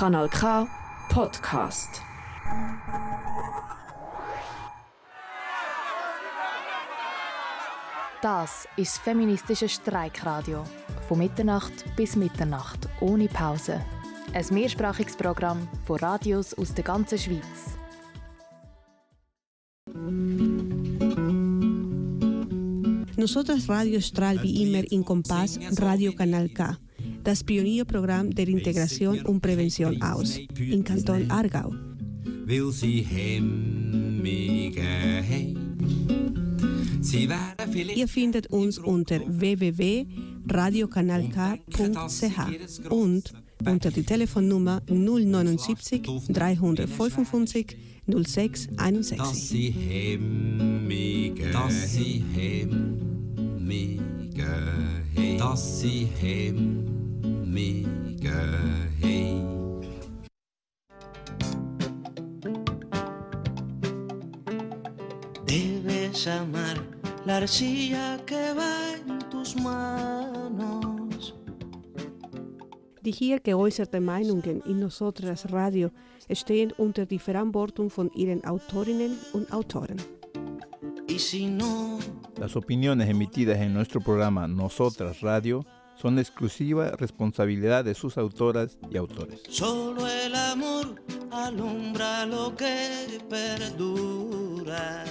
Kanal K Podcast. Das ist das feministische Streikradio. Von Mitternacht bis Mitternacht, ohne Pause. Ein mehrsprachiges Programm von Radios aus der ganzen Schweiz. Nosotras Radio strahlt wie immer in Kompass Radio Kanal K, das Pionierprogramm der Integration und Prävention aus, im Kanton Aargau. Will sie Ihr findet uns unter www.radiokanalk.ch und unter die Telefonnummer 079 355 06 61. dass sie hemmige, dass sie hemmige, dass sie hemmige, hey. Debes amar la arcilla que va en tus manos. Die hier geäußerten Meinungen in Nosotras Radio stehen unter die Verantwortung von ihren Autorinnen und Autoren. Y si no, Las opiniones emitidas en nuestro programa Nosotras Radio son de exclusiva responsabilidad de sus autoras y autores. solo el amor alumbra lo que perdura.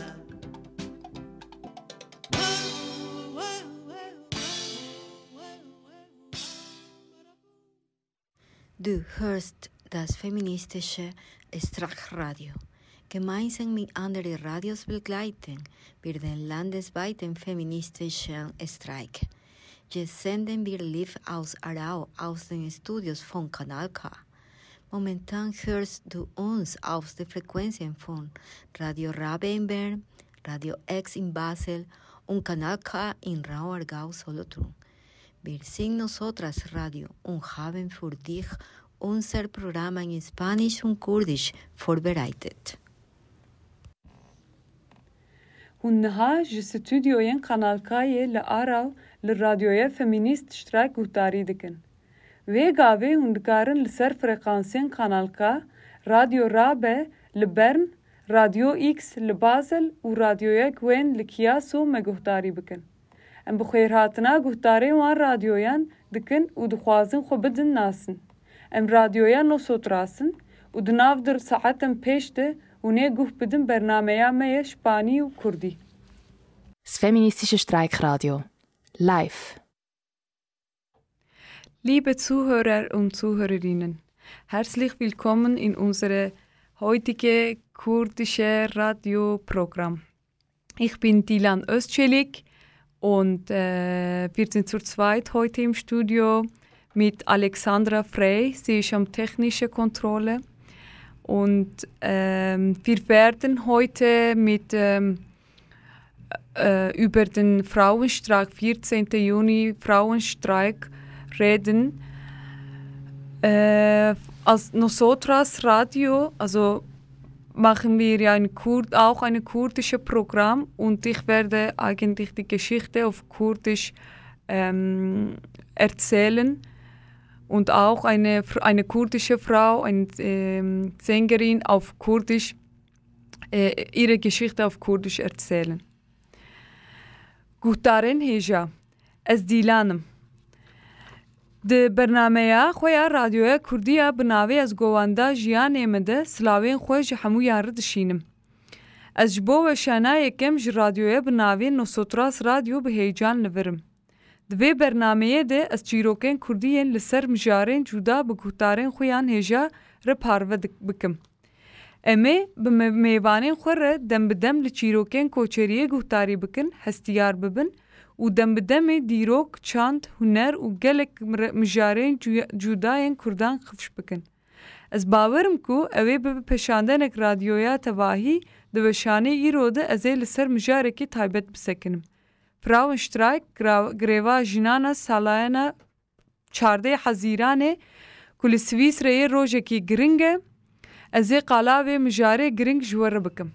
Du hörst das feministische Streikradio. Gemeinsam mit anderen Radios begleiten wir den landesweiten feministischen Streik. Jetzt senden wir live aus Aarau aus den Studios von Kanal K. Momentan hörst du uns auf den Frequenzen von Radio Rabe in Bern, Radio X in Basel und Kanal K in Raum Aargau Solothurn. Wir sind Nosotras Radio und haben für dich unser Programm in Spanisch und Kurdisch vorbereitet. هونها ji stüdyoyên Kanalkayê li Araw li radyoya feminîst strayk guhdarî dikin. Vê gavê hûn dikarin li ser frekansên Kanalka, Radio Rabe li Bern, Radio X li Basel û radyoya Gwen li Kiyaso me guhdarî bikin. Em bi xêrhatina guhdarên wan radyoyan dikin û dixwazin xwe bidin nasin. Em radyoya Nosotrasin û di nav dir saetên pêş de hûnê guh bidin bernameya me ye Spanî û Kurdî. Das feministische Streikradio. Live. Liebe Zuhörer und Zuhörerinnen, herzlich willkommen in unserem heutigen kurdischen Radioprogramm. Ich bin Dilan Özçelik und wir sind zu zweit heute im Studio mit Alexandra Frey. Sie ist am technischen Kontrolle. Und wir werden heute über den Frauenstreik, 14. Juni Frauenstreik, reden. Als Nosotras Radio, also machen wir ja auch ein kurdisches Programm und ich werde eigentlich die Geschichte auf Kurdisch erzählen. Und auch eine kurdische Frau, eine Sängerin auf Kurdisch, ihre Geschichte auf Kurdisch erzählen. Guhdarên hêja, ez Dîlanim. Di bernameya xwe ya radyoya Kurdî ya bi navê ez govanda jiyanê me de silavên xwe ji hemûyan re dişînim. Ez ji bo weşanayekem ji radyoya bi navê Nosotras Radio bi heyecan livirim. Di vê bernameyê de ez çîrokên Kurdî yên li ser mijarên cuda bi guhdarên xwe yan hêja re parve bikim. Em ê bi mêvanên xwe re dem bi dem li çîrokên koçeriyê guhdarî bikin, hestiyar bibin û dem bi demê dîrok, çand, huner û gelek mijarên cudayên Kurdan xifş bikin. Ez bawerim ku ew ê bi peşandenek radyoya tevahî di weşanê îro de ez ê li ser mijarekî taybet bisekinim. Frauenstreik, greva jinana salayana 14 Hezîranê ku li Swîsreyê rojekî giring e, ez ê qala vê mijarê giring ji we re bikim.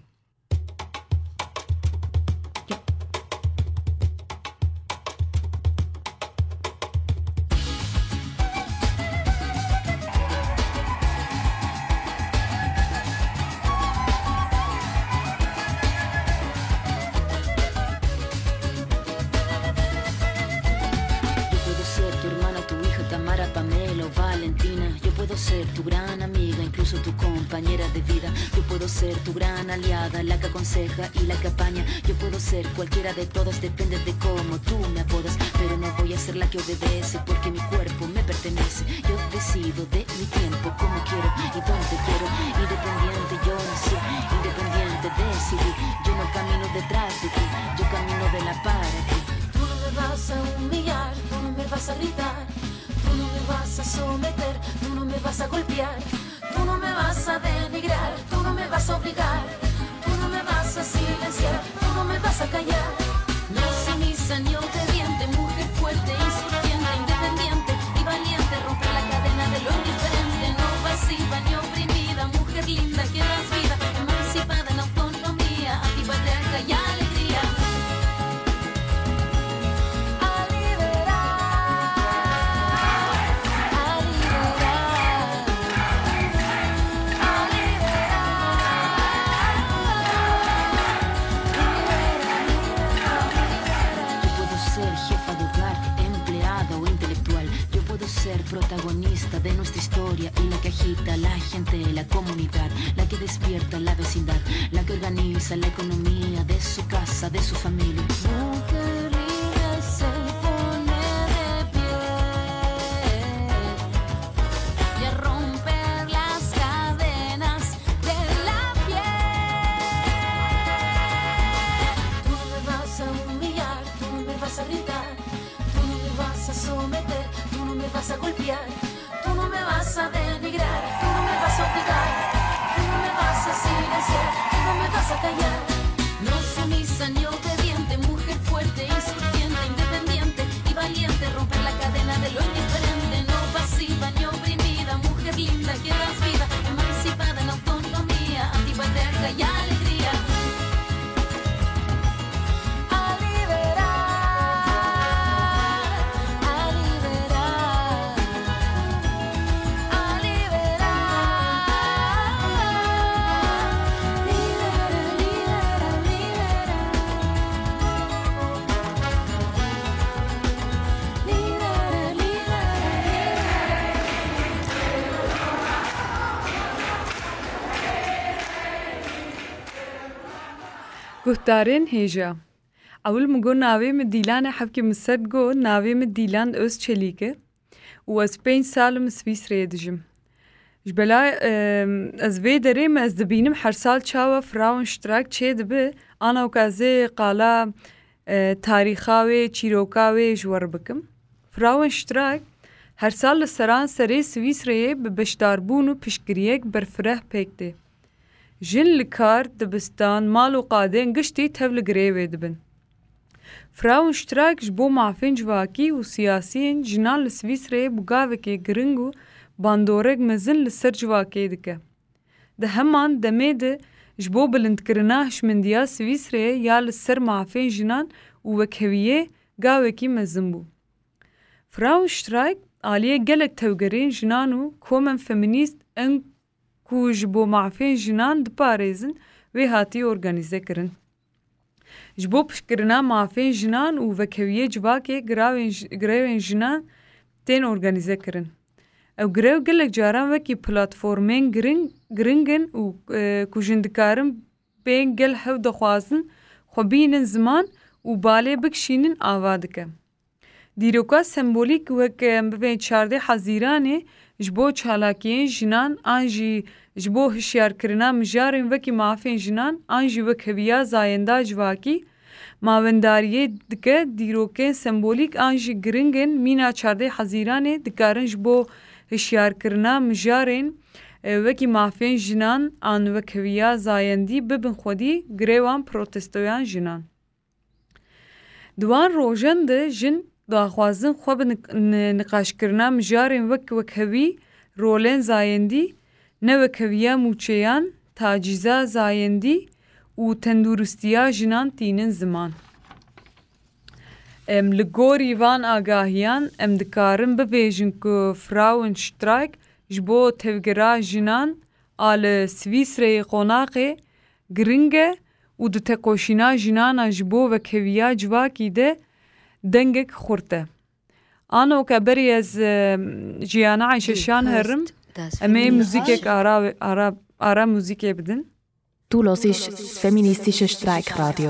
o Valentina. Yo puedo ser tu gran amiga, incluso tu compañera de vida. Yo puedo ser tu gran aliada, la que aconseja y la que apaña. Yo puedo ser cualquiera de todas, depende de cómo tú me apodas. Pero no voy a ser la que obedece, porque mi cuerpo me pertenece. Yo decido de mi tiempo, como quiero y donde quiero. Independiente yo nací, independiente decidí. Yo no camino detrás de ti, yo camino de la para ti. Tú no me vas a humillar, tú no me vas a gritar, tú no me vas a someter, tú no me vas a golpear, tú no me vas a denigrar, tú no me vas a obligar, tú no me vas a silenciar, tú no me vas a callar. No sumisa ni obediente, mujer fuerte, insurgente, independiente y valiente, romper la cadena de lo indiferente, no pasiva ni oprimida, mujer linda que das vida, emancipada en autonomía, activa de arca y alegría. Ser protagonista de nuestra historia y la que agita a la gente, la comunidad, la que despierta la vecindad, la que organiza la economía de su casa, de su familia. Mujer libre se pone de pie y a romper las cadenas de la piel. Tú no me vas a humillar, tú no me vas a gritar, tú no me vas a someter, tú no me vas a golpear, tú no me vas a denigrar, tú no me vas a obligar, tú no me vas a silenciar, tú no me vas a callar. No sumisa ni obediente, mujer fuerte, insurgente, independiente y valiente, romper la cadena de lo indiferente, no pasiva ni oprimida, mujer linda que das vida, emancipada en autonomía, activa de arca y alegría. گهدارین هیجا. اول مگو ناوی مدیلان حبکی مسد گو ناوی مدیلان اوز چلیکه و از 5 سالم سویسرا دجم. جبلا از وی دریم از دبینم هر سال چاوا فراون اشتراک چه دبه آنا وکازه قالا تاریخاوی چیروکاوی جوار بکم. فراون اشتراک هر سال لسران سری سویسرا به بشداربون و پشگریک برفره پکده. جن لکار دبستان مال و قادین گشتی تبل گریوه دبن. فراون اشتراک جبو معفین جواکی و سیاسیین جنان لسویسرا بگاوه که گرنگو باندورگ مزن لسر جواکی دکه. ده همان دمه ده جبو بلند کرناهش من دیا سویسرا یا لسر معفین جنان و وکهویه گاوه کی مزن بو. فراون اشتراک آلیه گلک توگرین جنانو کومن فمینیست ان کوج بو معفین جنان دپاريزن وی هاتی ارگانیزه کرن. جبو پشکرنا معفین جنان و وکهویه جواکی گراوین جنان تین ارگانیزه کرن. او گراو گلک جاران وکی پلاتفورمین گرنگن و کوجندکارن بین گل هف دخوازن خوبینن زمان و باله بکشینن آوادکه. دیروکا سمبولیک وک بین 14 حزیرانه جبو چالاکیین جنان آنجی جبو هشیار کرنا مجارین وکی معافین جنان آنجی وکهویا زاینده جواکی ماونداریه دکه دیروکین سمبولیک آنجی گرنگن مینا 14 حزیرانه دکارن جبو هشیار کرنا مجارین وکی معافین جنان آن وکهویا زایندی ببن خودی گریوان پروتستویان جنان. دوان روژن ده جن داخوازن خواب نقاش کرنا مجارین وکهوی رولین زایندی نه وکهویا موچیان تاجیزا زایندی و تندورستیا جنان تینن زمان. لگوری وان آگاهیان دکارن ببیجن که فراون شتراک جبو تفگرا جنان آل سویسره قناقه گرنگه و دو تقوشینا جنانا جبو وکهویا جواکی ده دنگک خورته. آنو که بری از جیانا عیششان هرم امی موزیک آرا موزیک بدن. Du hörst das feministische Streikradio.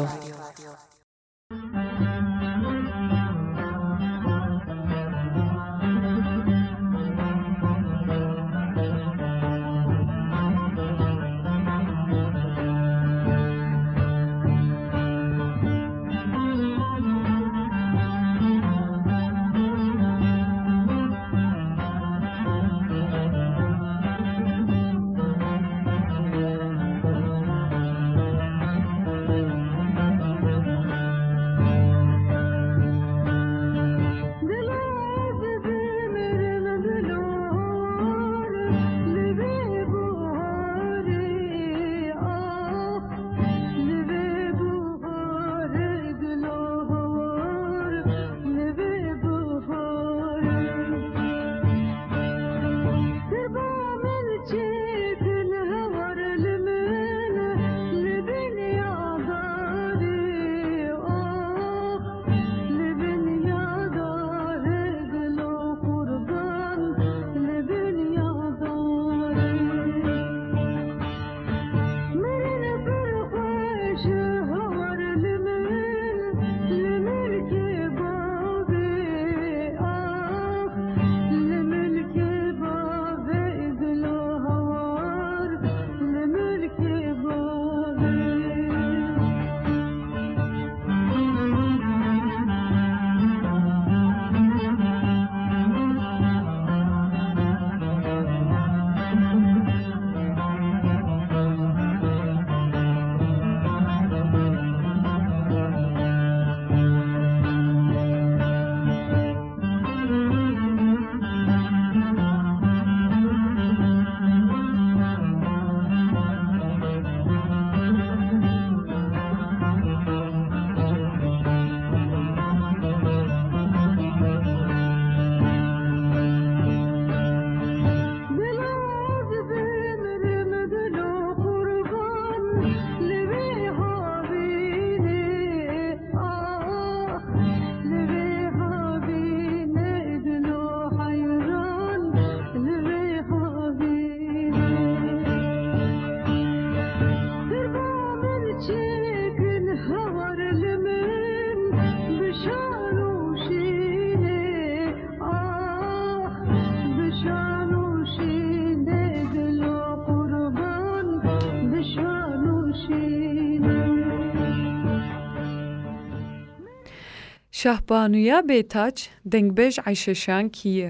شهبانویا بیتاج دنگبیج عیششان کیه.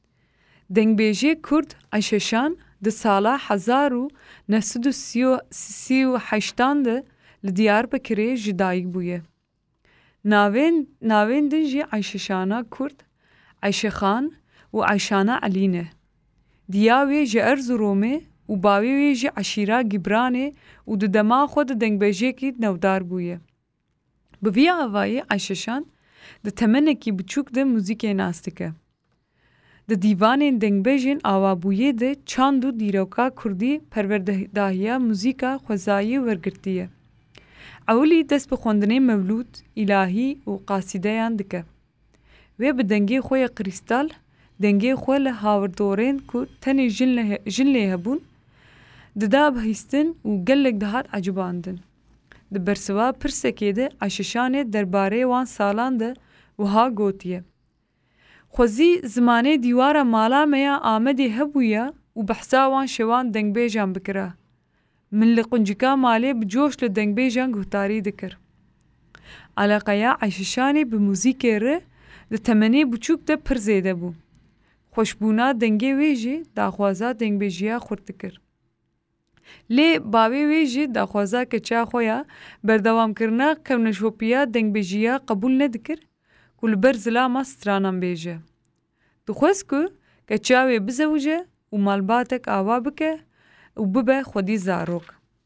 دنگبیجی کرد عیششان ده سالا 1938 ده لدیار بکری جدایی بویه. ناوین دنجی عیششانا کرد عیشخان و عیشانا علینه. دیاوی جه ارزرومه و باوی جه عشیرا گبرانه و ده دما خود دنگبیجی کی نودار بویه. بوی آوایی عیششان ده تمنه کی بچوک ده موزیک ناستکه. ده دیوان دنگبیجین آوابویه ده چاندو دیروکا کردی پروردهداهیا موزیکا خوزایی ورگرتیه. اولی دست بخوندنه مولود، الهی و قاصیده یاندکه. و به دنگی خوی کریستال، دنگی خوی لحاوردورین که تنی جن هبون، ده بهیستن و گلک دهات عجباندن. ده برسوا پرسکه ده عششانه درباره وان سالان ده و ها گوتیه. خوزی زمانه دیوارا مالا میا آمده هبویا و بحثا وان شوان دنگ بیجان بکره. من لقنجکا مالی بجوش لدنگ بیجان گوتاری دکر. علاقایا عششانه بموزیک ره ده تمنی بچوک ده پر زیده بو. خوشبونا دنگی ویجی داخوازا دنگ بیجیا خورد دکر. لی باوی ویجی داخوازا کچا خویا بردوام کرنا کونشوپیا دنگ بیجیا قبول ندکر کل برزلا ما سترانم بیجه. دخواست که چاوی بزوجه و مالباتک آوا بکه و ببه خودی زاروک.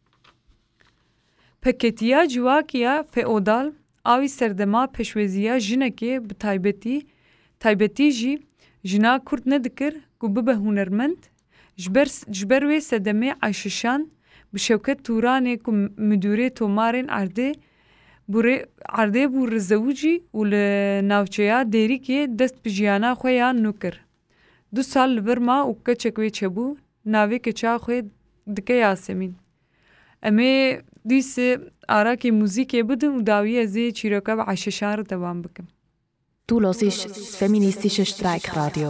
پکتیا جواکیا فئودال آوی سردما پشوزیا جنکی بتایبتی جی جنا کرد ندکر که ببه هنرمند جبروی سدمه عیششان بشوکت تورانه که مدوره تومارن عرده عرضه بو رزوجی و لناوچیا دیری که دست بجیانا خویا نوکر 2 سال لبرما و کچکوی چبو ناوی کچا خوی دکه یاسمین امی دیس آرا که موزیک بدم و داوی ازی چیروکا و عششان رو دوام بکم. Du hörst das feministische Streikradio.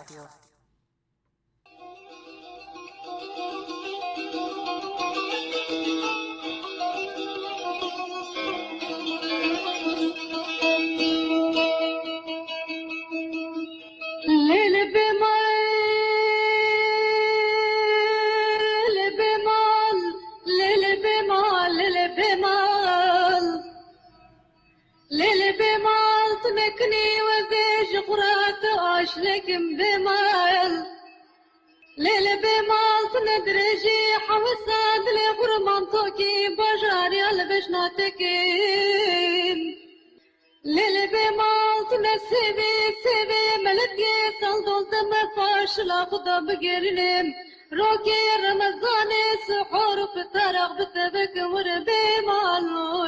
لكن بمال ليل بمال تندرجي حوساد لغرمان توكي بجاري البشناتكين ليل بمال تنسيبي سيبي ملكي صندول دم فاش لا خدا بقرنم روكي رمضاني سحور فترق بتبك وربي مال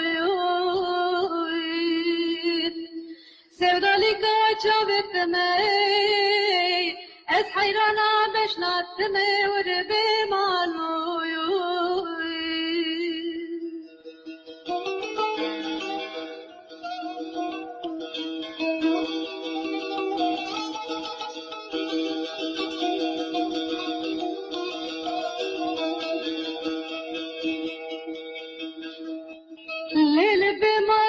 سودالك جابت مي اس حيرانا بشنات مي وربي مالو ليل بما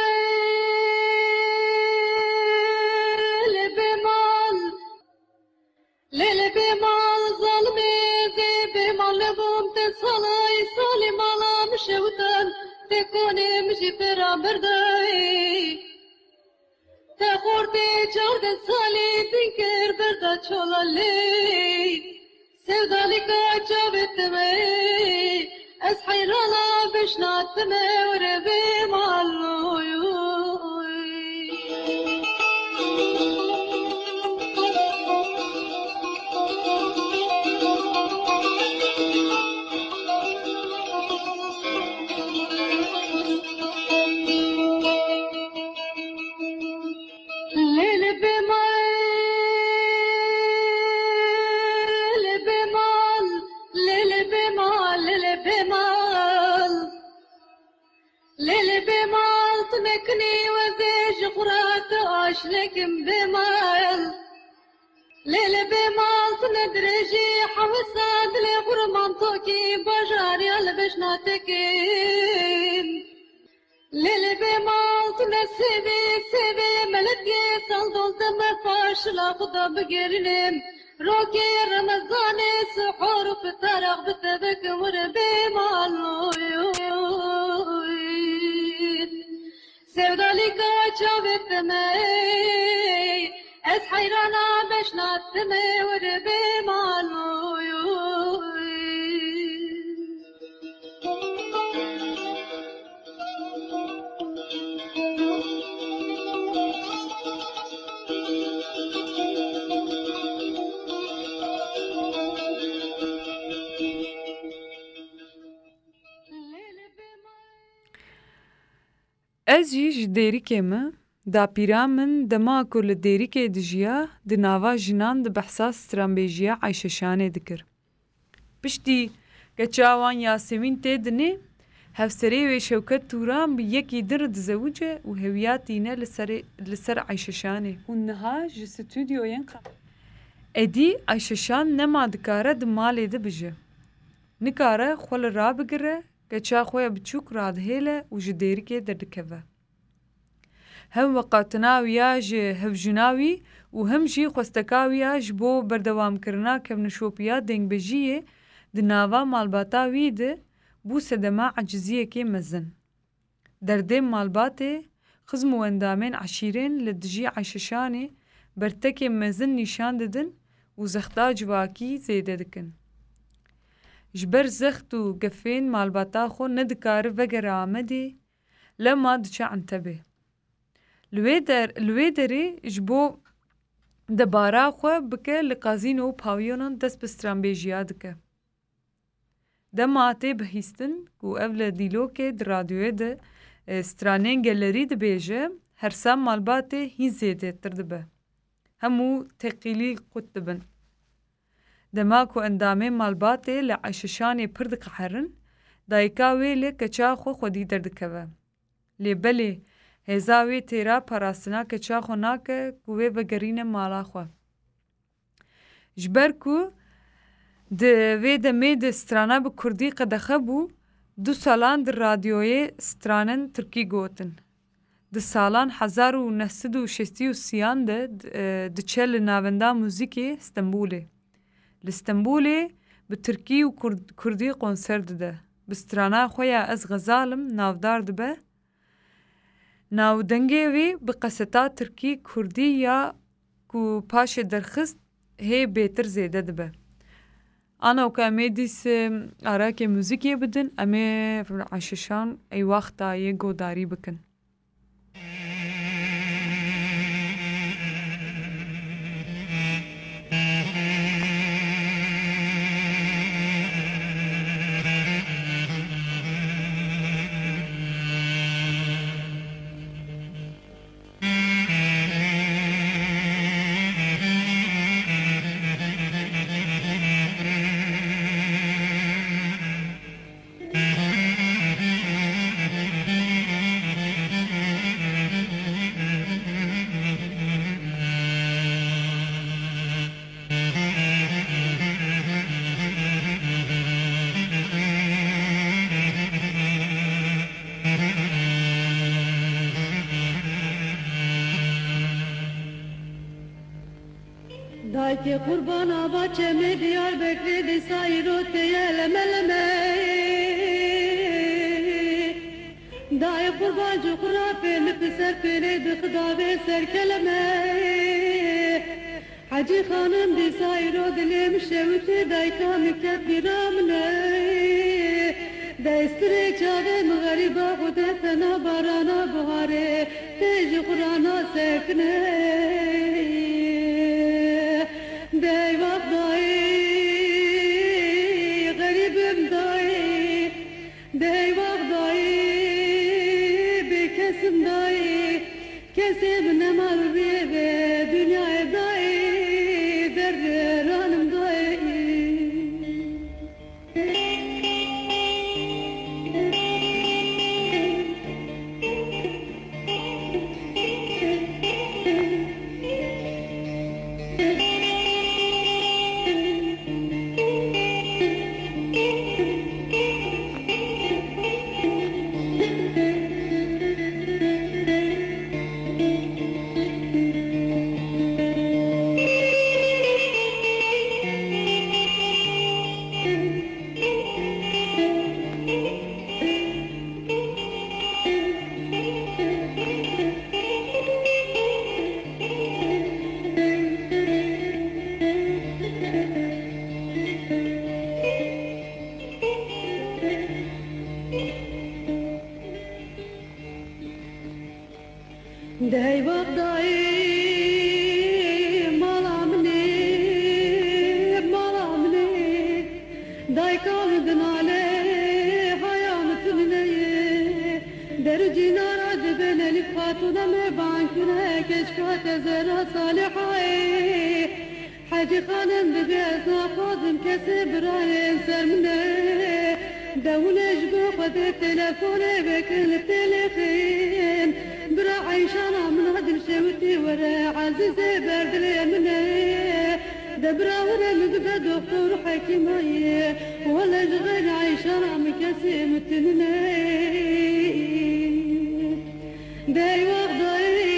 ليل بمال ظلمي زي بمال لبوم تصلي صلي مالا مشوتن تكوني مشي برا برداي تخورتي جارد صالي تنكر بردا تشولالي سودالك جابت مي اسحي رالا بشنات مي وربي مالو تمكني وزيج قرات لكن بمال ليل بمال تندرجي حوساد لغرمان توكي بجاري البشناتكين ليل بمال تنسيبي سيبي ملكي صندول دم فاش لا خدا بقرنم روكي رمضاني سحور فترق بتبك وربي مالو سودالك جابت مي اس حيرانا بشنات مي وربي مالو Ez jî ji derîkê me dapîra min dema ku li derîkê dijiya di nava jinan di behsa stranbêjiya Ayşeşanê dikir. Piştî keça wan Yasemîn tê dinê, hevserê wê Şewket Turan bi yekî din re dizewuce û hewiya tîne li ser Ayşeşanê û niha ji stûdyoyên Edî Ayşeşan nema dikare di malê de bije. Nikare xwe li rabigire, keça xwe ya biçûk radihêle û ji derîkê derdikeve. Hem weqatina wî ya ji hevjîna wî û hem jî xwesteka wî ya ji bo berdewamkirina kevnişopiya dengbêjiyê di nava malbata wî de bû sedema eciziyekê mezin. Derdên malbatê, xizm û endamên eşîrên li dijî Ayşeşanê bertekê mezin nîşan didin û zexta civakî zêde dikin. Ji ber zext û gefên malbata xwe nedikare vegere Amedê, lema diçe Entebê. Li wê derê ji bo debara xwe bike li qazîno û pavyonan dest bi stranbêjiya dike. Dema tê bihîstin ku ev li dîlokê di radyoyê de stranên gelerî dibêje her sal malbatê hîn zêdetir dibe. Hemû teqîlî qut dibin. Dema ku endamên malbatê li eşişanê pir diqeherin, dayika wê lê keça xwe xwedî derdikeve. Lê belê hêza wê têra parastina keça xwe nake ku wê vegerîne mala xwe. Ji ber ku di vê demê de strana bi Kurdî qedexe bû, 2 salan di radyoyê stranên Tirkî gotin. Di salan 1963 de diçe li navenda muzîkê Stenbolê. Li Stenbolê bi Tirkî û Kurdî konser dide. Bi strana xwe ya Ez Xezalim navdar dibe. Navdengê wê bi qeseta Tirkî Kurdî ya ku paşê derxist hê bêtir zêde dibe. Ana ku em ê dîsê arakê muzîkê bidin, em ê eşişan ey wexta yê godarî bikin. Dayke kurbana bahçeme Diyarbakır'da sayrote yelemeleme Day kurban cukra peni piser peni dıkda ve serkeleme Hacı hanım di sayro dilim şevti dayka müket biramne Daystre çave mğariba kudetena barana buhare Teci kurana sekne Deyvah dayı, garibim dayı, deyvah dayı, bir kesim dayı, kesim ne marbiye ve dünyaya dayı, derler hanım dayı. Deyvah dayı, malam ne, day kaldın ale, hayatın neye, dercin aradı ben elif hatuna me bankine, keşkat ezera salihaye, Hacı hanım bibezna fazım kesip rayen sermine, devleş bu kadı telefone bekil telefin, برا عيشانا من هدم شوتي ورا عزيزي برد اليمنى دبرا ورا مقدة دكتور حكيمية ولا جغير عيشانا مكاسي متنى داي وغضاي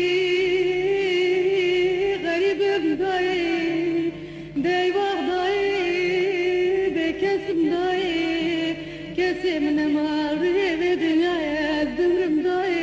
غريب بداي داي وغضاي بكاسم داي كاسي من ماري بدنيا الدمر داي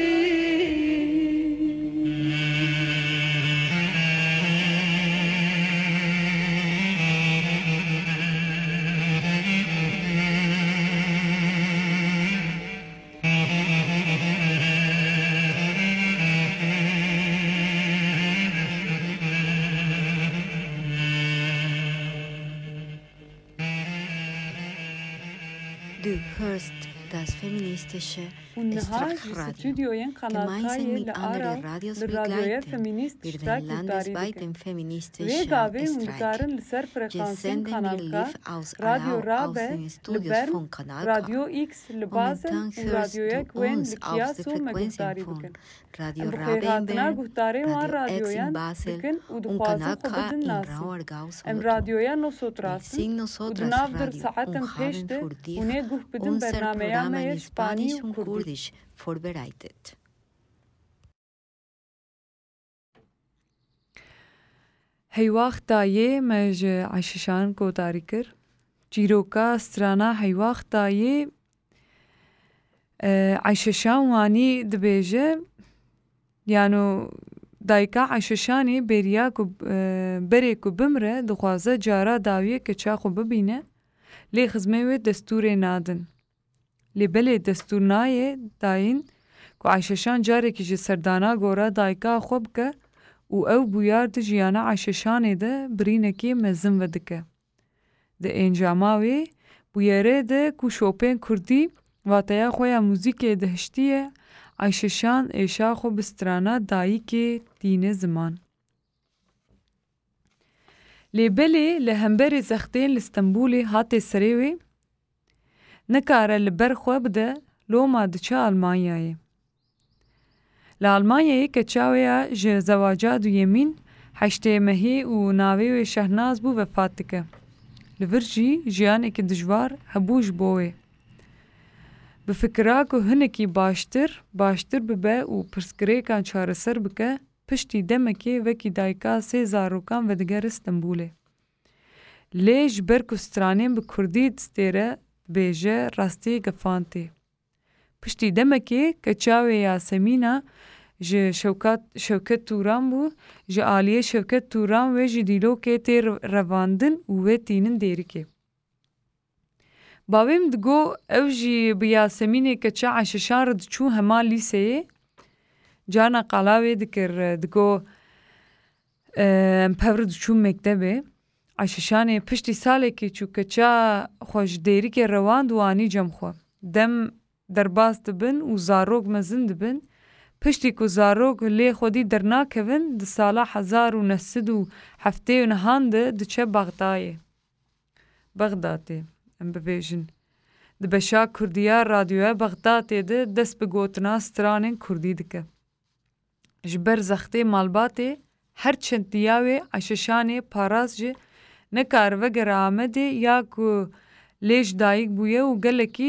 Du hörst das feministische والنهار Estrachradio, استوديوين gemeinsam قناتكاي mit anderen لأرى Radios للراديوية begleiten فيمينيست wir den شتاك وتاريخ landesweiten feministischen ويقابي Streik. وندارن لسر Wir فريقانسين senden wir قناتكا live aus راديو Aarau, aus رابع den Studios لبرن von Kanal K. راديو إكس لبازل Momentan hörst وراديوية du كوين uns auf der لكياسو Frequenzen مقداري von بكن Radio أم Rabe بخير in هاتنا Bern, قهتاري وان Radio X in راديويان Basel بكن und ودخوازن Kanal K خبز in الناسي Rauergau أم Solothurn. راديويا نو Wir صوتراسن singen nosotras ودنافدر Radio ساعتم und haben بيشته für dich ونيقوه بدن unser برنامجا Programm ما in يشباني Spanisch und وكردي Kurdisch vorbereitet. هی وقتا یه مج عششان کو داری کر جیروکا استرانا هی وقتا یه عششان وانی دبیجه یعنی دایکا عششانی بریا کو بری کو بمره دخوازه جارا داویه که چا خو ببینه لی خزمه و دستور نادن لی بلی دستور نایه داین کو عششان جاره که جی سردانا گورا دایکا خوب که و او بویار د جیانا عششانه ده برینکی مزم ودکه. ده انجاماوی بویاره ده کو شوپین کردی واتیا خویا موزیک دهشتیه عششان ایشا خو بسترانا دایی که دین زمان. لیبلی لهمبر زختین لستنبولی هاتی سریوی نکاره لبر خو بده لو ما دچه آلمانیایی. لألمانيا كتشاوية ج زواجات ويمين حشتي مهي وناوي وشهناز بو وفاتك لفرجي جيان اك دجوار هبوش بوي بفكراكو هنكي باشتر ببا و پرسكري كان چارسر بك پشتي دمكي وكي دايكا سي زاروكان ودگر استنبولي ليش بركو سترانين بكردي دستيره بيجه راستي گفانتي پشتی دمکی کچاوی یاسمینا ج شوکت توران بو ج آلیه شوکت توران و ج دیلو که تیر رواندن و تینن دیری که باویم دگو او جی بیاسمینی کچا عششان رد چو هما لیسه جانا قلاوی دکر دگو امپور چو مکتبه عششان پشتی ساله که چو کچا خوش دیری که رواند وانی جم خو دم درباز دبن و زاروگ مزن دبن پشتی کو زاروگ لی خودی درنا کون د سالا 1970 و نهانده د چه بغداده ام ببیجن د بشا کردیا رادیوه بغداده ده دست بگوتنا سترانین کردی دکه جبر زخته مالباته هر چند دیاوه عششانه پاراز جه نکار وگر آمده یا کو لیش دایگ بویه و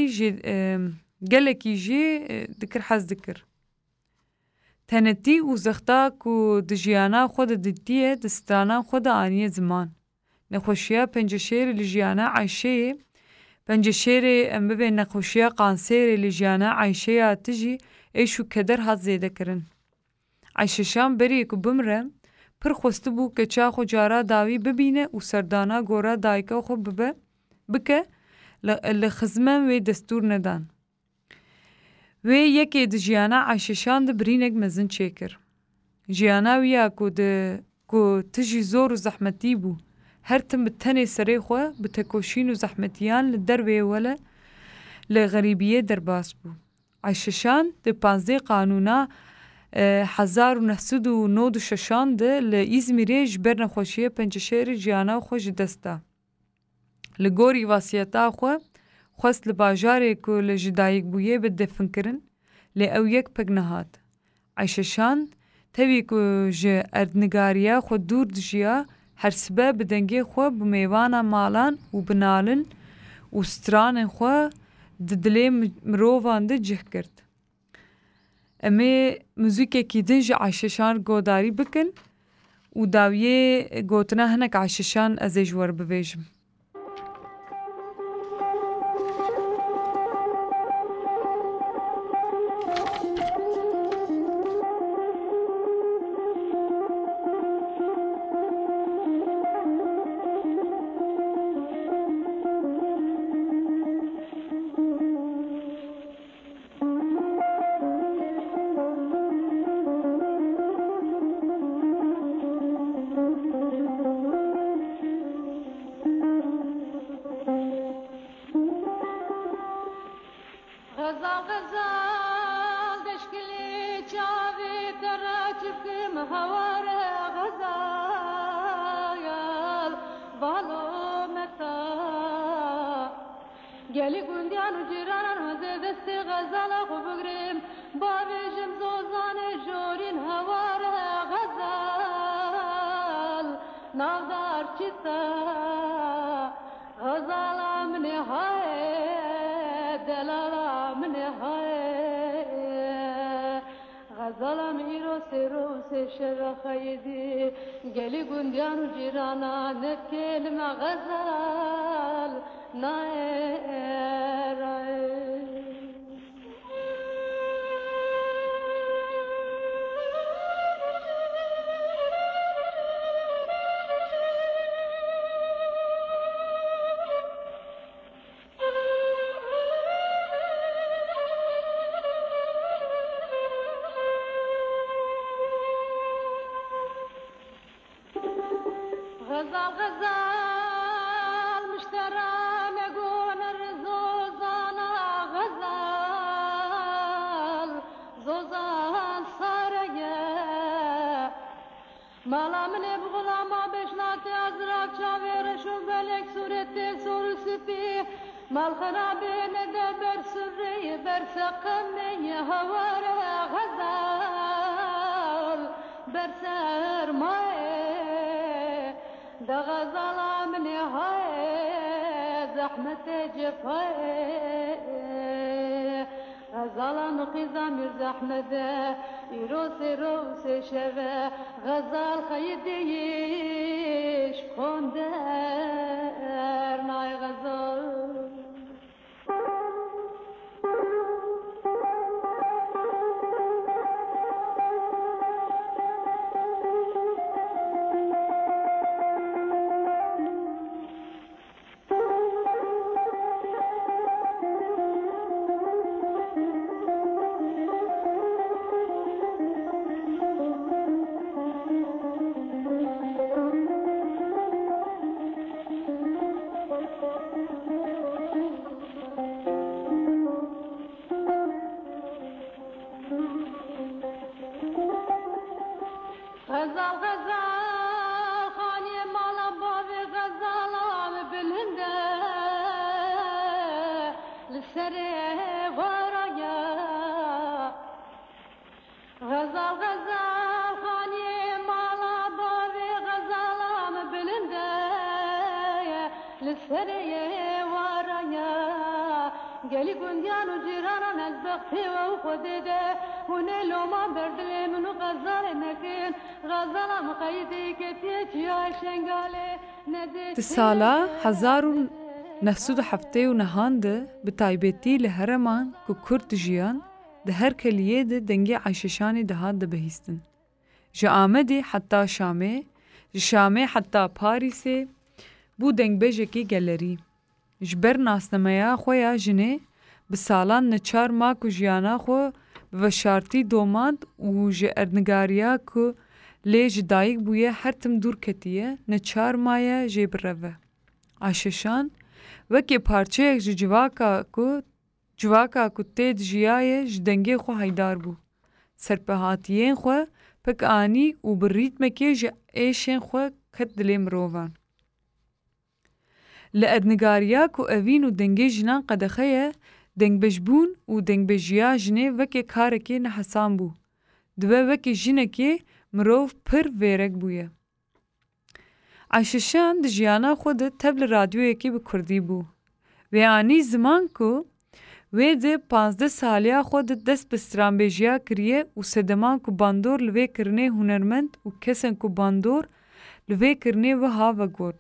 گلکی جی دکر حز دکر تنتی و زختا کو دجیانا خود ددیه دستانا خود آنیه زمان نخوشیه پنجشیر لجیانا عایشه پنجشیر امبه نخوشیه قانسیر لجیانا عایشه آتجی ایشو کدر حد زیده کرن عایششان بری کو بمره پر خوست بو که چا خو جارا داوی ببینه و سردانا گورا دایکا خو بکه لخزمن و دستور ندان و یکی د جیانا عایششان د برینگ مزن چیکر جیانا ویا کو تجی زور و زحمتی بو هر تم بتنی سری خو بتکوشین و زحمتیان لدروی ولا لغریبیه درباس بو عایششان د 15 قانونا 1996 ده لإزمیری جبر نخوشیه پنجشیر جیانا خوش دستا لگوری واسیتا خواست لباجاره که لجدایک بویه بده فنکرن لی او یک پگ نهاد. عایششان تاوی که جه اردنگاریا خود دور دجیا هر سبب بدنگی خود بمیوانا مالان و بنالن و ستران خود ددلی مروفان ده جه کرد. امی موزیک کی دنج عایششان گوداری بکن و داویه گوتنا هنک عایششان از جوار ببیجم. هواره غزال بالو متا گلی گوندیان و جیرانان وزه دست غزال خو بگریم باویشم زوزان جورین هواره غزال نافدار چیستا غزالا من های دلالا من های غزالا میرو سیرو سیشر خیدی گلی گوندیان و جیرانا نکلم غزال نای غزال مشترى نقول الرزوزانا غزال زوزان صاريا مالا من بغلا ما بشناتي أزرق شاوير شو بلك سورتي سور سبي مال خرابين دبر سري برسقمي هوار غزال برسر ماي دا غزالا من هاي زحمة جفاي غزالا نقيزا مير زحمة يروسي روسي شفا غزال خيديش كوندر ناي غزال غزال غزال خاني مالا بابي غزال عم بالهنده للسري ورايا غزال غزال خاني مالا بابي غزال عم بالهنده للسري ورايا قالي كنديان وجيرانا نزبقتي وخدده ونلو ما بردلي منو غزال نكين غزال مقيدي كتيج يا شنغالي ندي سالا 1979 به تایبەتی لە هەرەمان کو کورد ژیان د هەر کەلیێ de dengê عەیشەشانی دەهات دەبەهیستن. Ji Amedê heta Şamê, ji Şamê heta Parîsê bû dengbêjekî gelerî. Ji ber nasnameya xwe ya jinê bi salan neçar ma ku jiyana xwe bi veşartî domand û ji erdnigariya ku lê ji dayîk bûye her tim dûr ketiye neçar maye jê bireve. Ayşeşan wekî parçeyek ji civaka ku tê dijiyaye ji dengê xwe haydar bû. Serpehatiyên xwe pek anî û bi rîtmekê ji êşên xwe ket dilê mirovan. Li erdnigariya ku evîn û dengê jinan qedexeye, dengbêjbûn û dengbêjiya jinê wekî karekê nehesan bû. Dibe wekî jinekê mirov pir vêrek bûye. Ayşeşan di jiyana xwe de tev li radyoyekê bi Kurdî bû. Vê anî ziman ku wê de 15 saliya xwe de dest bi stranbêjiya kiriye û sedeman ku bandor li vê kirinê hunermend û kesên ku bandor li vê kirinê wiha vegot.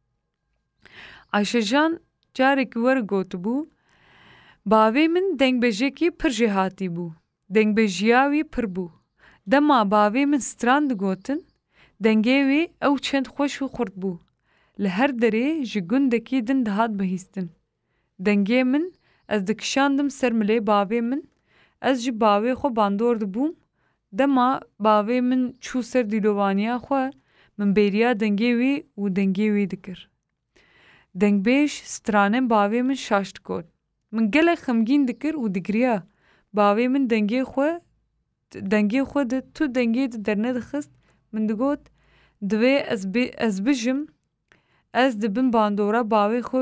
Ayşejan carekî were gotibû, bavê min dengbêjekî pir jêhatî bû. Dengbêjiya wî pir bû. Dema bavê min stran digotin, dengê wê ew çend xweş û xurt bû. Li her derê ji gundekî din dihat bihîstin. Dengê min ez dikişandim ser milê bavê min, ez ji bavê xwe bandor dibûm, dema bavê min çû ser dîlovaniya xwe, min bêriya dengê wê û dengê wê dikir. Dengbêj stranên bavê min şaş dikot. Min gelek xemgîn dikir û digiriya bavê min dengê xwe de tu dengê de derne dixist من دگوت دوی از بجم از دبن باندورا باوی خو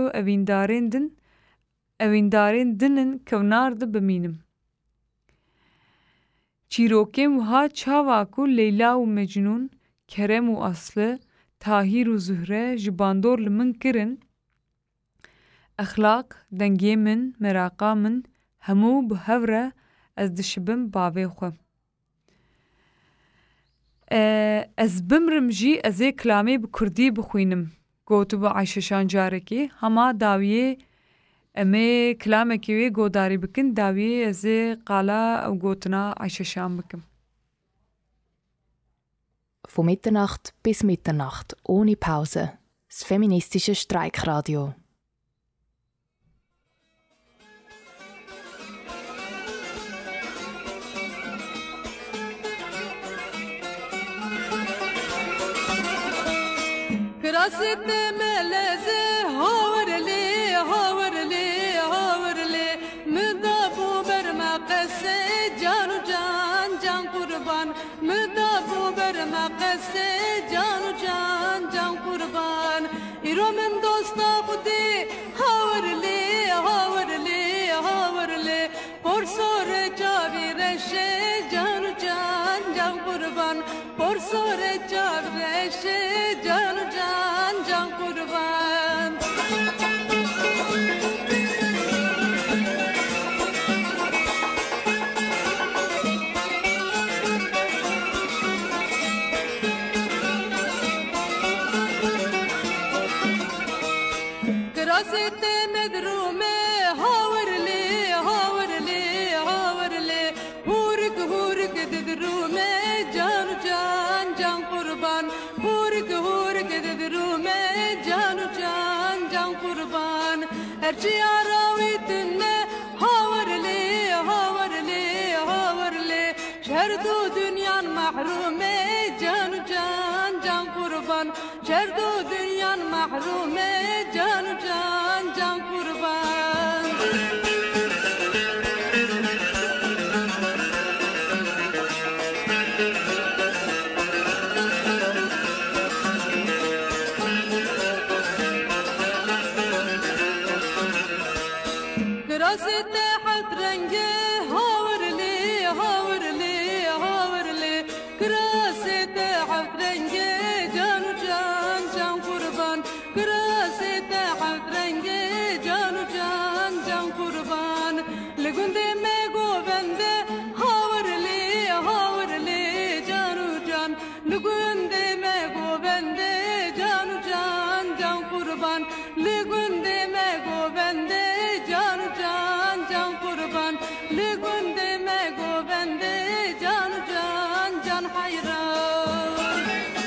اویندارین دنن کونار ده بمینم. چیروکم وها چاواکو لیلا و مجنون کرم و اصله تاهیر و زهره جباندور لمن کرن اخلاق دنگی من مراقا من همو بهوره از دشبم باوی خو. از بمرم جی از کلامی بکردی بخوینم گوتو با عایشه شان جارکی هما داویه امی کلامه کیوی گوداری بکن داویه از قالا او گوتنا عایشه شان بکم. Von Mitternacht bis Mitternacht, ohne Pause. Das feministische Streikradio. كراسة ملازة هاورلي هاورلي هاورلي مدابو برمقسي جانو جان جان قربان مدابو برمقسي جانو جان جان قربان إيرو من دوستا خدي هاورلي هاورلي هاورلي برسور جاوي رشي جانو جان جان قربان برسور جاوي رشي جانو جان جان قربان كراسة مدرومة هاورلي هاورلي هاورلي هورك هورك تدرومة جان جان جان قربان هورك هورك تدرومة جان جان جان قربان ارجي عراويتنا هاورلي هاورلي هاورلي شردو دنيا محرومة جان جان جان قربان شردو دنيا محرومة جان جان جان قربان كراسة حط رنجي هاورلي هاورلي هاورلي كراسة حط رنجي جانو جان جان قربان كراسة حط رنجي جانو جان جان قربان لقندي ميقو بندي هاورلي هاورلي جانو جان لقندي ميقو بندي جانو جان جان قربان لقندي ميقو بندي جانو جان جان قربان لقندي ميقو بندي جانو جان جان حيران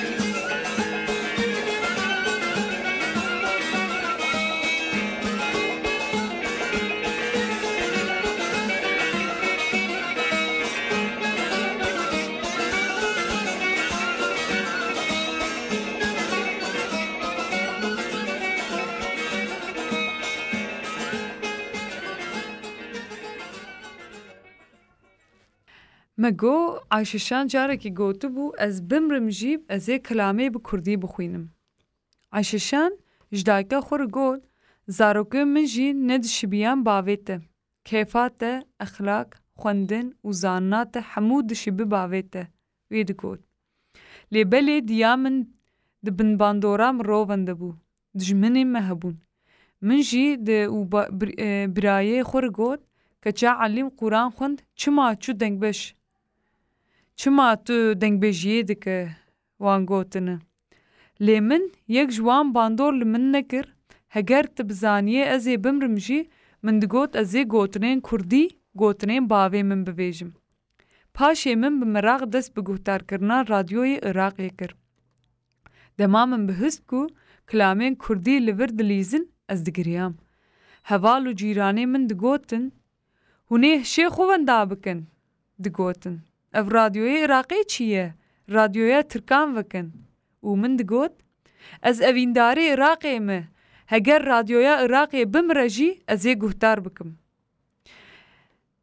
مگو عایششان جارکی گوتو بو از بمرم جیب از کلامی بکردی بخوینم. عایششان جدایکا خور گوت زاروکه من جی ندشبیان باویته. کیفات اخلاق خوندن و زانات حمود شبی باویته. وید گوت. لیبلی دیامن دبن باندورام روونده بو. دجمنی مهبون. من جی ده و برایه خور گوت که چه علیم قرآن خوند چما چو دنگ بش. چما تو دنگ بجیه دکه وان گوتنه. لیمن یک جوان باندور لمن نکر هگر تبزانیه ازی بمرم جی من دگوت ازی گوتنین کردی گوتنین باوی من بویجم. پاشه من بمراغ دست بگوتار کرنا رادیوی عراق کر. دما من بهست کو کلامین کردی لور دلیزن از دگریام. هوالو جیرانی من دگوتن هونه شیخ خوان بکن دگوتن. اف رادیوی عراقی چیه؟ رادیوی ترکان وکن. و من دگوت از اوینداری عراقی مه هگر رادیوی عراقی بمرجی از یه گوهتار بکم.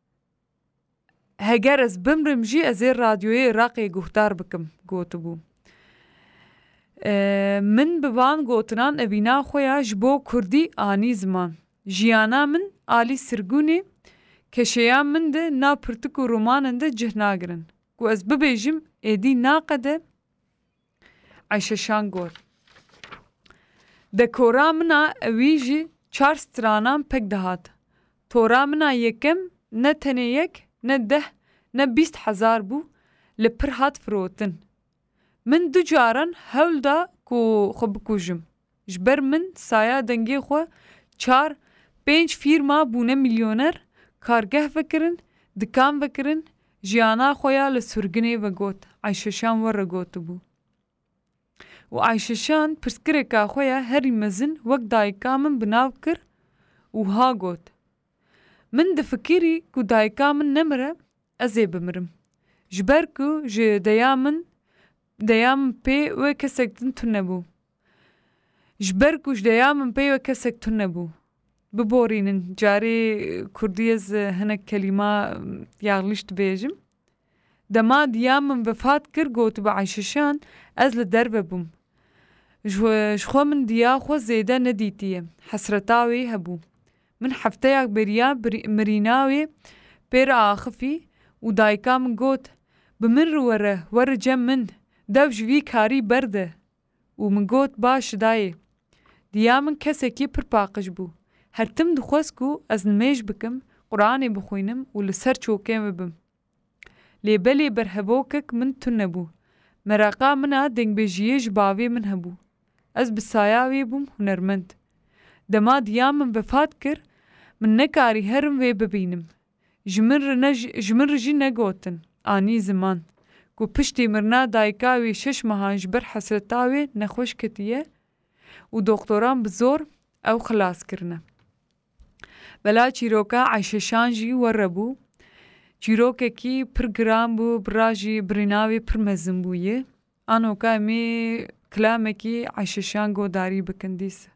هگر از بمرمجی از یه رادیوی عراقی گوهتار بکم گوتو بو. من ببان گوتنان ابینا خویا جبو کردی آنی زمان. جیانا من آلی سرگونی کشیا من ده نا پرتک و رومانن ده جهناگرن. گو از ببیجم ایدی ناقده عیششان گور. ده کورا منا اویجی 4 سترانان پک دهات. تورا منا یکم نه تنه یک نه 10 نه 20,000 بو لپر هات فروتن. من 2 جاران هول دا کو خب کوجم. جبر من سایا دنگی خو 4-5 فیرما بونه میلیونر کارگه فکرن دکان فکرن جیانا خویا لسرگنی و گوت عیششان ور گوت بو. و عیششان پرسکره که خویا هری مزن وقت دایکا من بناو کر و ها گوت. من دفکری کو دایکا من نمره ازی بمرم. جبر کو جه دایامن پی و کسک تن نبو. جبر کوش دایامن پی و کسک تن نبو. ببورینن جاری کردیز هنک کلمه یاغلیشت بیجم. دما دیامن وفات کر گوت با عیششان از لدر ببوم. جخوا من دیا خو زیده ندیتیه. حسرتاوی هبو. من هفته یک بریا مریناوی پیر آخفی و دایکا من گوت بمن ور جم من دو جوی کاری برده و من گوت باش دایه. دیا من کسی کی پر پاقش بو. هر تم دخواست کو از نمیج بکم قرآن بخوینم و لسر چوکیم ببم. لیبلی برهبوکک من تن نبو. مراقا منا دنگ بجیه جباوی من هبو. از بسایاوی بوم هنرمند. دما دیا من وفات کر من نکاری هرم وی ببینم. جمر رجی نگوتن آنی زمان. کو پشتی مرنا دایکاوی 6 ماهان جبر حسرتاوی نخوش کتیه و دکتران بزور او خلاص کرنه. بلا چیروکا عیششان جی وربو. چیروکه کی پر گرام بو براجی بریناوی پر مزن بویه. آنوکا می کلامه کی عیششان گو داری بکندیسه.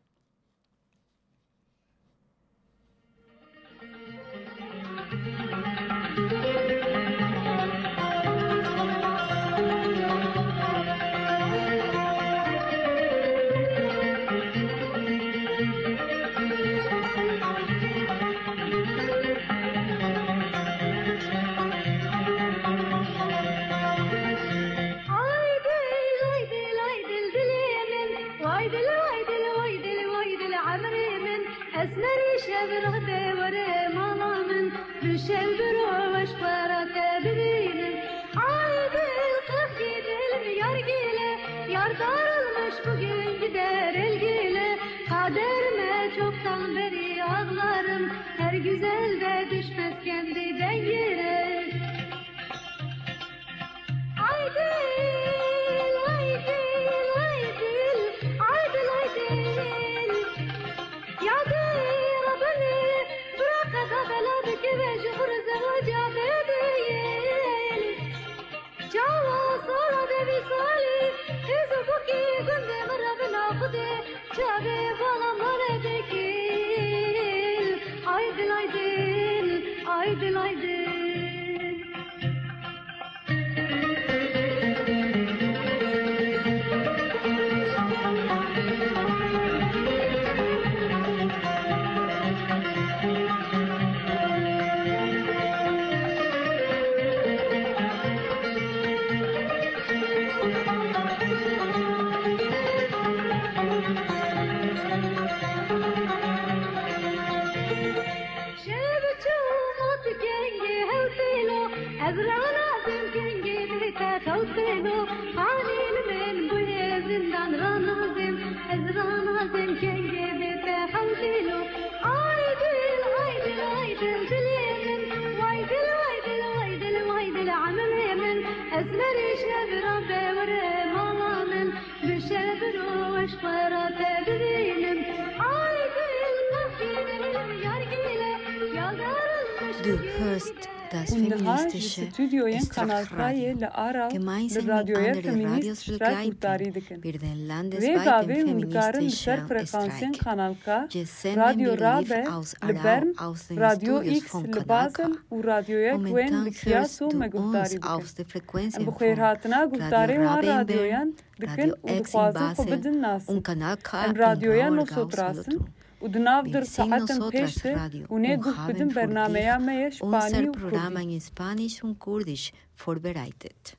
Du hörst und Nahaj Studioyen Kanalkaya le Ara le Radioya Feminist Streikutari dikin. Ve gave undkarin ser frekansyen Kanalka Radio Rabe le Bern Radio X le Basel u Radioya Gwen le Kiasu me guhtari dikin. Em bukhair hatna guhtari wa radioyan dikin u dkhwazin khu bidin nas. Em radioya no sotrasin ودناف در ساعتن پیشته اونه گوش بدن برنامه ما اسپانی و کردی. اسپانیش و کردیش vorbereitet.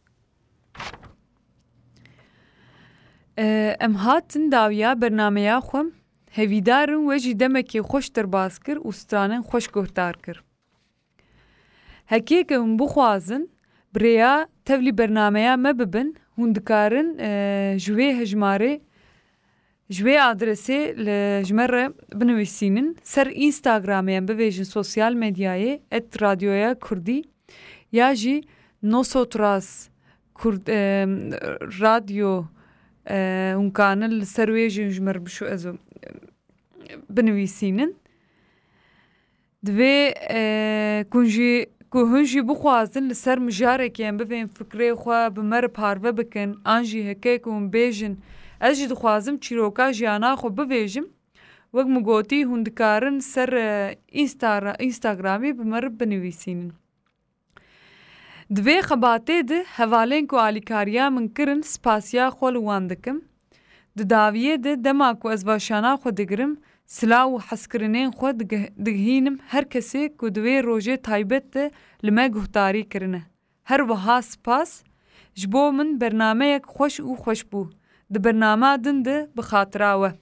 ام هاتن داویا برنامه خوم هویدارن و جدمکی خوش در باز کر و سترانن خوش گهتار کر. هکی که هم بخوازن بریا تولی برنامه ما ببن هندکارن جوی هجماره جوی آدرسی لجمره بنویسینن سر اینستاگرامیان بویژن سوسیال مدیای @radioya kurdî یا جی نوسوتراس kurd radyo hunkanil ser wê jî jmer bişu ez binivîsînin divê ku hûn jî bixwazin li ser mijarekê em bivên fikrê xwe bi me re parve bikin an jî heke ku hûn bêjin ez jî dixwazim çîroka jiyana xwe bivêjim wek min gotî hûn dikarin ser Instagramê bi me re binivîsînin. Divê xebatê de hevalên ku alîkariya min kirin spasiya xwe li wan dikim. Di daviyê de dema ku ez vaşana xwe digirim silav û hezkirinên xwe digihînim her kesê ku di wê rojê taybet de li me guhdarî kirine. Her wiha spas ji bo min bernameyek xweş û xweşbû. Di bernama din de bi xatira we.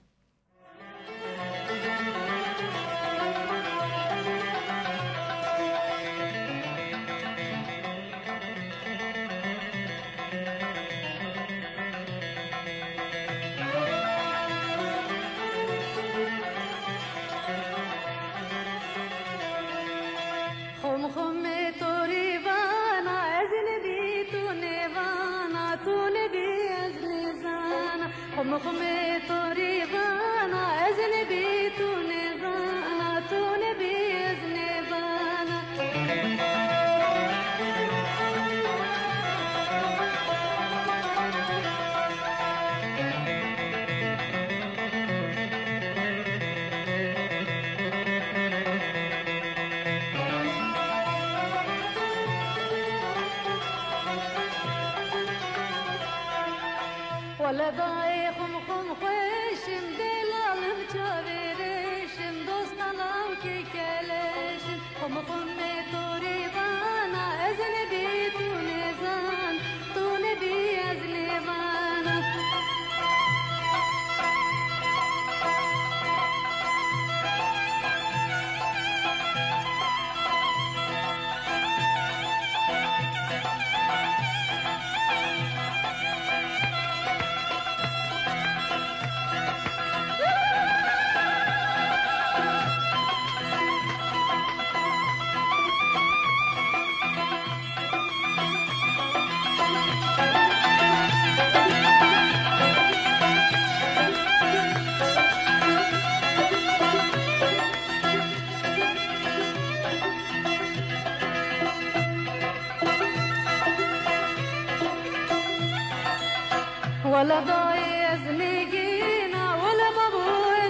ولا ضايع زنيقينا ولا بابو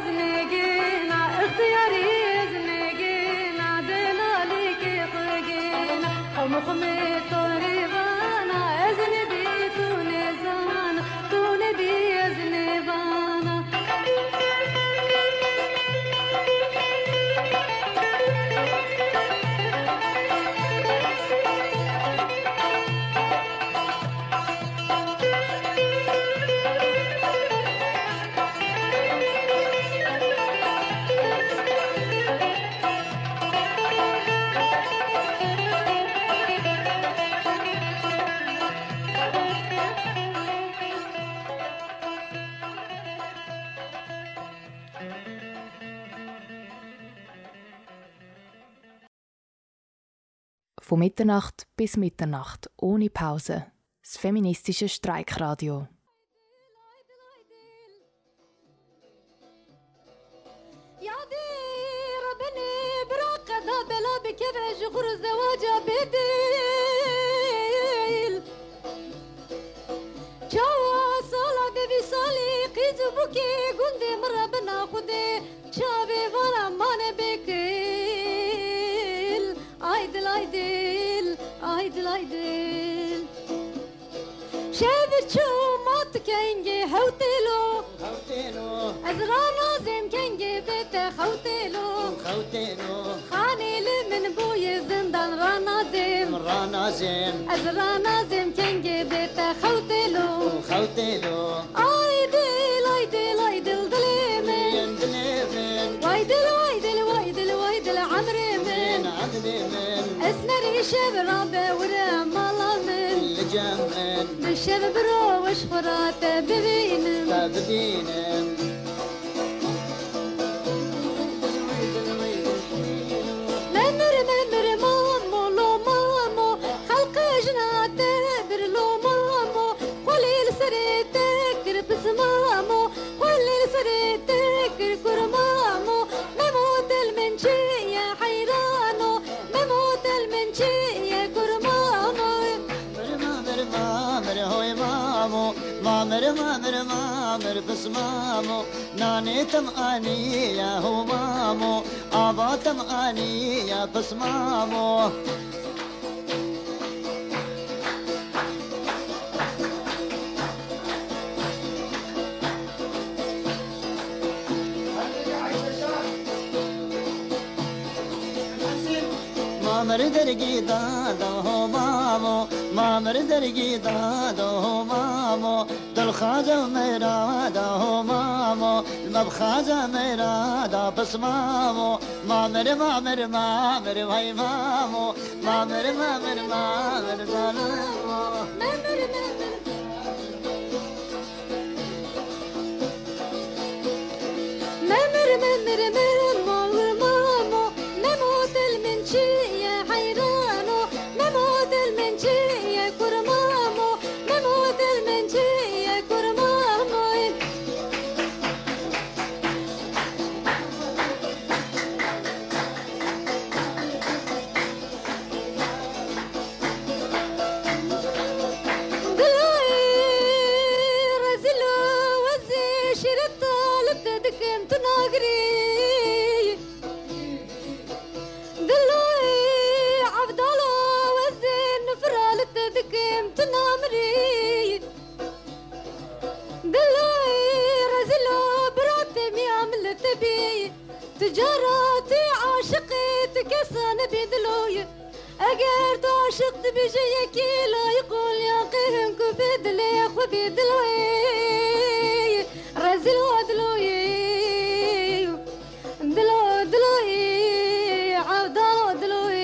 زنيقينا اختياري زنيقينا دلالي كيقينا خمخمي طريبانا ازنبي تونزانا تونبي ازنبانا Von Mitternacht bis Mitternacht, ohne Pause. Das feministische Streikradio. بلا بكبع جغر الزواج بيد شابتشو موت كنجي هوتلو أزرانا زم كنجي بيت خوتلو خاني لمن بوي زندان رانا زم أزرانا زم كنجي بيت خوتلو عايدل عايدل عايدل دليمن وايدل عمري من اسنري شبرابة ورا مالامن بالشب برو وشفرات ببينم ممر مامو لو مامو خلق جنات برلو مامو قليل سريتك ربس مامو قليل سريتك كرمامو مموت المنشي يا حيرانو مموت المنشي يا كرمامو مامر بس مامو ناني تماني يا هو مامو آبا تماني يا بس مامو مامر درگی دادو مامو مامر درگی دادو مامو دل خواجه میرا دو مامو مب خواجه میرا دا پس مامو مامر وای مامو مامر مموت المنشي يا حيرانو مموت المنشي يا كرمامو مموت المنشي يا كرمامو دلوي رزلو وزي شرطة لبتدكم تناقري تنامري دلوي رزلو براتم يعمل تبي تجاراتي عاشقتك سان بدلوي اقرد عاشقت بجيكي لا يقول يا قهنك بدلي اخو بدلوي رزلو دلوي دلوي عبدالله دلوي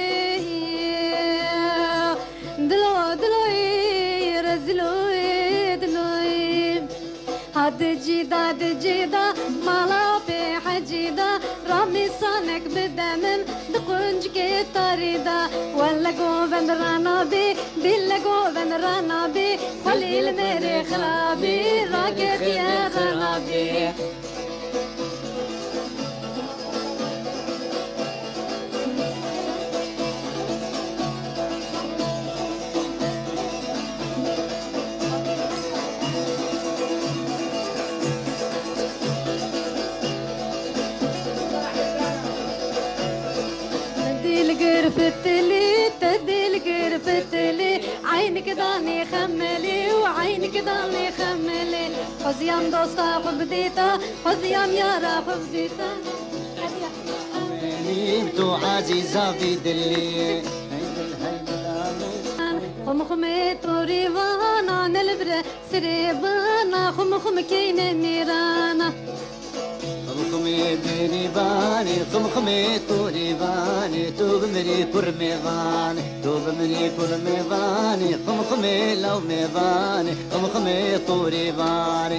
دجيدا مالا بحجيدا رامي صانك بدمن دقنجك طريدا ولا قوبن رانا بي بلا قوبن رانا بي قليل ميري خرابي راقد يا خرابي تدي القرفتلي عينك ضاني خملي وعينك ضاني خملي حزيام دوستا حبديتا حزيام يارا حبديتا تو عزيزة في دلي خمخمت وريوانا نلبر سريبانا خمخم كين نيرانا خمخمي دريباني خمخمي توريباني توبمري كرميباني توبمري كرميباني خمخمي لو ميباني خمخمي توريباني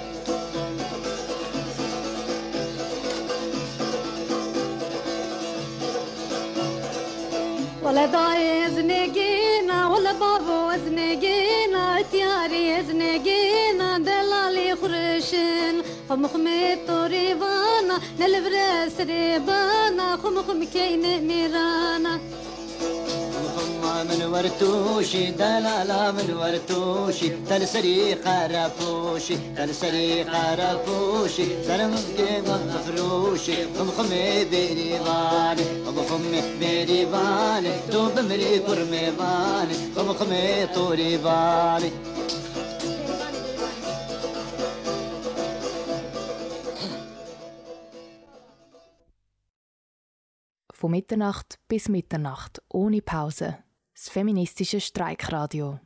ولا داي زنقينا ولا بابو زنقينا تياري زنقينا دلالي خرشن خمخمي طريبانا نلبرس ريبانا خمخم كين ميرانا من ورتوشي دلالا من ورتوشي تلسري خرفوشي تلسري خرفوشي سرمكي مفروشي خمخمي بريباني خمي بيري بالي دوب مري كرمي بالي خمي طوري بالي Von Mitternacht bis Mitternacht, ohne Pause. Das feministische Streikradio.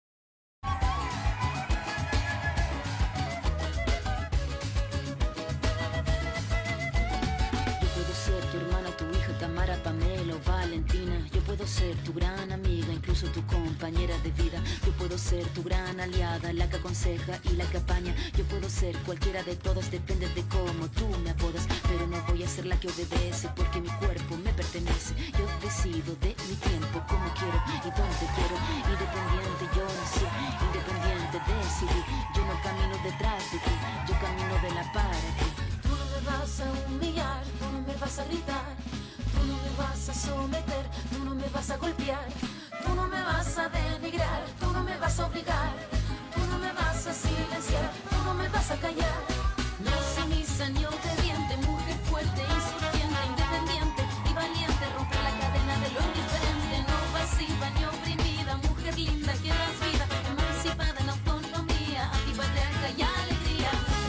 Yo puedo ser tu gran amiga, incluso tu compañera de vida. Yo puedo ser tu gran aliada, la que aconseja y la que apaña. Yo puedo ser cualquiera de todas, depende de cómo tú me apodas. Pero no voy a ser la que obedece, porque mi cuerpo me pertenece. Yo decido de mi tiempo, como quiero y donde quiero. Independiente yo nací, independiente decidí. Yo no camino detrás de ti, yo camino de la para ti. Tú no me vas a humillar, tú no me vas a gritar. Tú no me vas a someter, tú no me vas a golpear, tú no me vas a denigrar, tú no me vas a obligar, tú no me vas a silenciar, tú no me vas a callar. No sumisa ni obediente, mujer fuerte, insurgente, independiente y valiente, romper la cadena de lo indiferente, no pasiva ni oprimida, mujer linda que das vida, emancipada en autonomía, antipatriarca y alegría.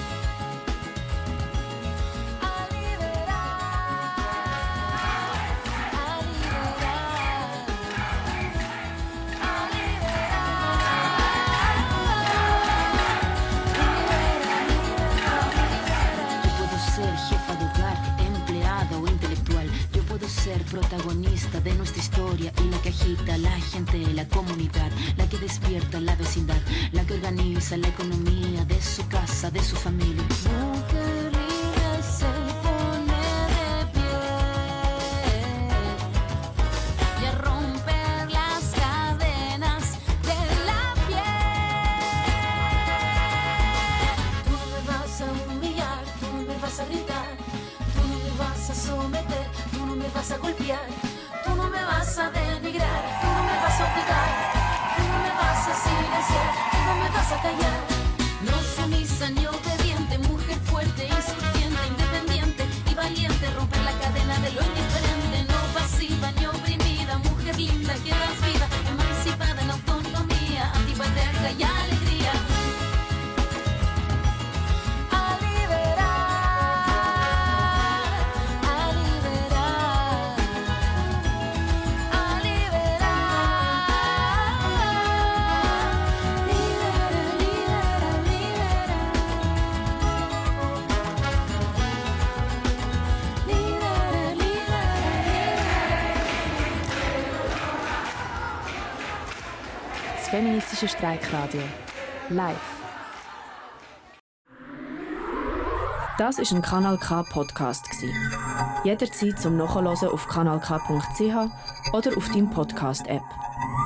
Ser protagonista de nuestra historia y la que agita a la gente, la comunidad, la que despierta la vecindad, la que organiza la economía de su casa, de su familia. Mujer libre se pone de pie y a romper las cadenas de la piel. Tú no me vas a humillar, tú no me vas a gritar, tú no me vas a someter, tú no me vas a golpear, tú no me vas a denigrar, tú no me vas a obligar, tú no me vas a silenciar, tú no me vas a callar. No sumisa ni obediente, mujer fuerte, insurgente, independiente y valiente, romper la cadena de lo indiferente, no pasiva ni oprimida, mujer linda que das vida, emancipada en autonomía, antipatriarca y alegría. Das feministische Streikradio. Live. Das ist ein Kanal K Podcast gsi. Jederzeit zum Nachhören auf kanalk.ch oder auf deinem Podcast App.